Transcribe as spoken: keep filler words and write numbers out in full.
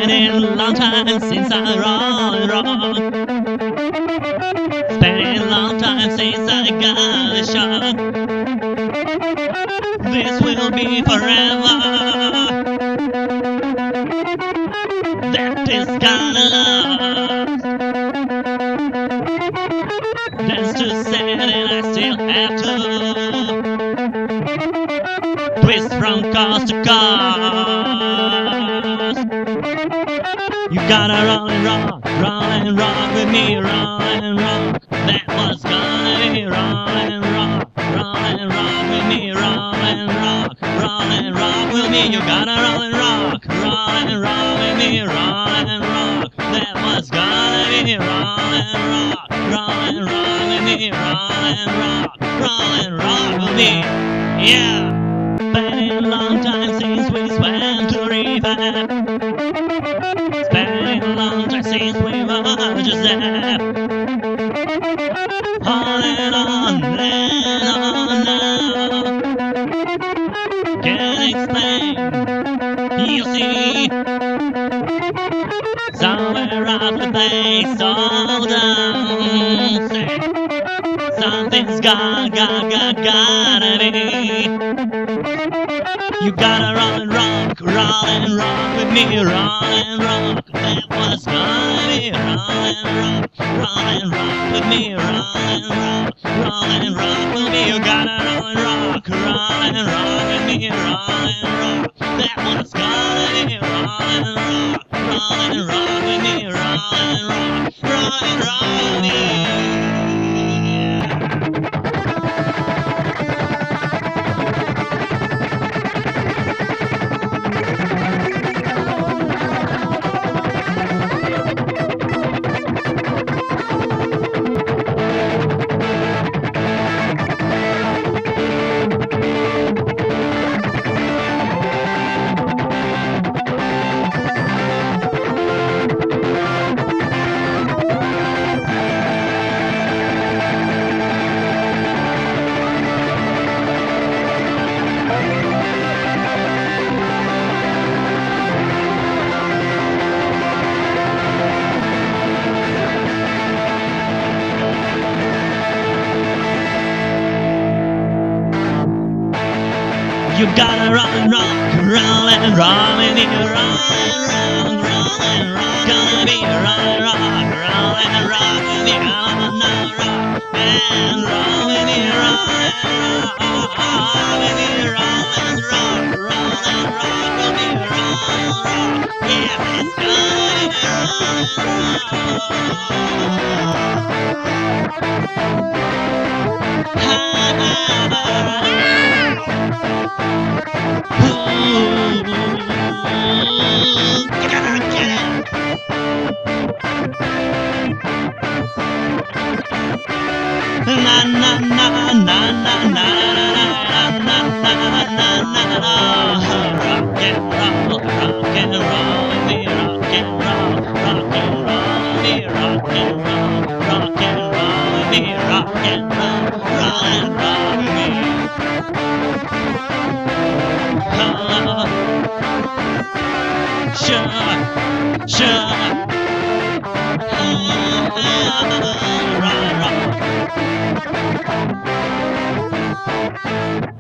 been a long time since I rock, rock. It's been a long time since I got a shot. This will be forever. That is gonna last. That's too sad and I still have to twist from coast to coast. You gotta roll and rock, roll and rock with me, roll and rock. That was gonna be roll and rock, roll and rock with me, roll and rock, roll and rock with me. You gotta roll and rock, roll and rock with me, roll and rock. That was gonna be roll and rock, roll and rock with me, roll and rock, roll and rock with me. Yeah. Been a long time since we swam to the river. It's been a long time since we were just there. On and on and on now. Can't explain, you see. Somewhere out the place all down. Say, something's got, got, got, gotta be. You gotta roll and rock, roll and rock with me, roll and rock. That was gonna be roll and rock, roll and rock with me, roll and rock, roll and rock with me. You gotta roll and rock, roll and rock with me, roll and rock. That was gonna be roll and rock, roll and rock with me, roll and rock, roll and rock with me. You gotta roll and rock, roll and roll and you roll and rock, roll and rock. Gonna be roll and rock, roll and rock with you, roll and rock and roll with you, roll and rock with you, roll and rock, roll and rock with you, roll and rock. Yeah, it's gonna be roll and rock. Na na na na na na na na na na na. Rock and roll, rock and roll, me rock and roll, rock and roll, me rock and roll, rock and roll, me rock and roll, roll and roll me. Sure, sure. Rock, rock.